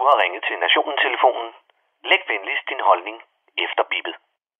har ringet til Nationen-telefonen. Læg venligst din holdning efter bippet.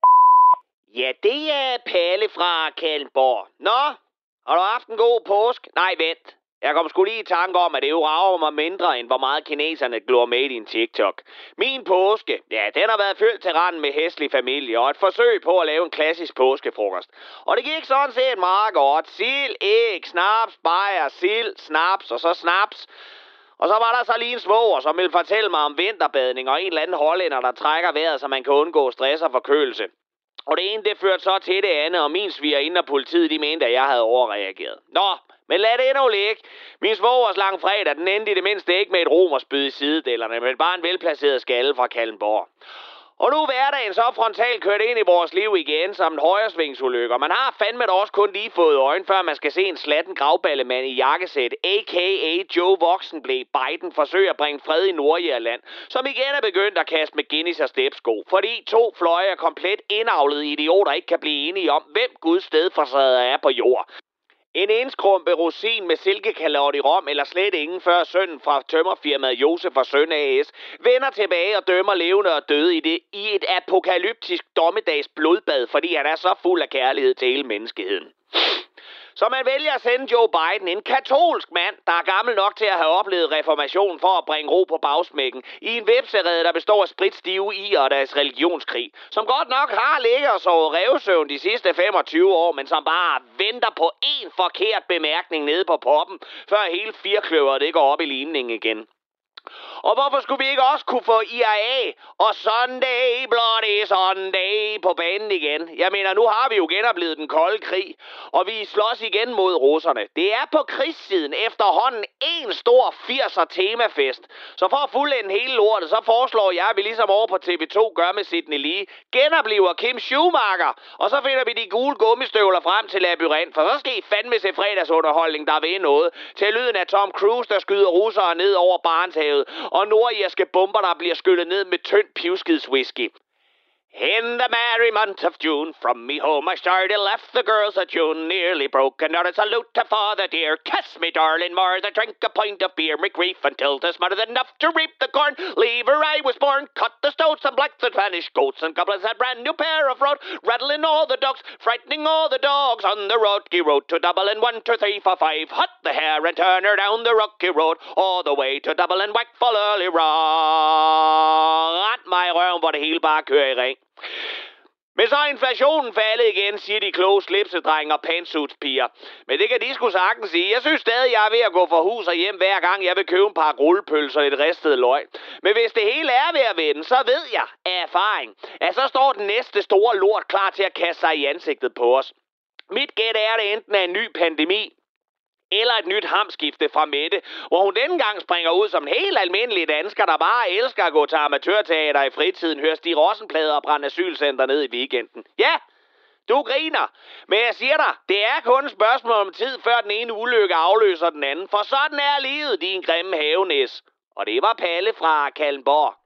Ja, det er Palle fra Kalundborg. Nå, har du haft en god påske? Nej, vent. Jeg kom sgu lige i tanke om, at det jo rager mig mindre, end hvor meget kineserne glor med i din TikTok. Min påske, ja, den har været fyldt til randen med hæslig familie, og et forsøg på at lave en klassisk påskefrokost. Og det gik sådan set meget godt. Sild, æg, snaps, bajer, sild, snaps og så snaps. Og så var der så lige en svoger, som ville fortælle mig om vinterbadning og en eller anden hollænder, der trækker vejret, så man kan undgå stress og forkølelse. Og det ene, det førte så til det andet, og min svigerinde og politiet, de mente, at jeg havde overreageret. Nå, men lad det endnu ligge. Min svogers langfredag, den endte i det mindste ikke med et romerspyd i sidedellerne, men bare en velplaceret skalle fra Kalundborg. Og nu er hverdagen så frontalt kørt ind i vores liv igen som en højresvingsulykke. Man har fandme da også kun lige fået øjne, før man skal se en slatten gravballemand i jakkesæt, a.k.a. Joe Voksenblæ Biden, forsøge at bringe fred i Nordjylland, som igen er begyndt at kaste med Guinness og stepsko, fordi to fløje af komplet indavlede idioter ikke kan blive enige om, hvem Guds stedfortræder er på jord. En enskrumpe rosin med silkekalot i Rom, eller slet ingen, før sønnen fra tømmerfirmaet Josef og Søn A.S. vender tilbage og dømmer levende og døde i et apokalyptisk dommedags blodbad, fordi han er så fuld af kærlighed til hele menneskeheden. Så man vælger at sende Joe Biden, en katolsk mand, der er gammel nok til at have oplevet reformationen for at bringe ro på bagsmækken, i en vepserede, der består af spritstive i og deres religionskrig, som godt nok har ligget og sovet revsøvn de sidste 25 år, men som bare venter på én forkert bemærkning nede på poppen, før hele firkløveret det går op i limningen igen. Og hvorfor skulle vi ikke også kunne få IRA og Sunday, Bloody Sunday på banen igen? Jeg mener, nu har vi jo genoplevet den kolde krig, og vi slås igen mod russerne. Det er på krigssiden efterhånden en stor 80'er temafest. Så for at fuldende hele lortet, så foreslår jeg, at vi ligesom over på TV2 gør med Sidney Lee, genoplever Kim Schumacher, og så finder vi de gule gummistøvler frem til labyrint, for så skal I fandme se fredagsunderholdning, der ved noget, til lyden af Tom Cruise, der skyder russere ned over Barentshavet, og nordirske bomber, der bliver skyllet ned med tynd pivskidswhisky. In the merry month of June, from me home I started, left the girls at June, nearly broken. Not a salute to father dear, kiss me darling more, than drink a pint of beer, me grief until 'tis more than enough to reap the corn. Leave where I was born, cut the stoats and black the Spanish goats, and goblins had brand new pair of road, rattling all the dogs, frightening all the dogs on the rocky road to Dublin, 1, 2, 3, 4, 5, hut the hare and turn her down the rocky road, all the way to Dublin, whack full early wrong. Ret mig i røven, hvor det hele bare kører i ring. Men så er inflationen faldet igen, siger de kloge slipsedrenge og pantsuitspiger. Men det kan de sgu sagtens sige. Jeg synes stadig, jeg er ved at gå fra hus og hjem hver gang, jeg vil købe en par rullepølser og et ristet løg. Men hvis det hele er ved at vende, så ved jeg af erfaring, at så står den næste store lort klar til at kaste sig i ansigtet på os. Mit gæt er, det enten er en ny pandemi, eller et nyt hamskifte fra Mette, hvor hun denne gang springer ud som en helt almindelig dansker, der bare elsker at gå til amatørteater i fritiden, hører Stig Rosenplader og brænde asylcenter ned i weekenden. Ja, du griner, men jeg siger dig, det er kun et spørgsmål om tid, før den ene ulykke afløser den anden, for sådan er livet, din grimme havenæs. Og det var Palle fra Kalundborg.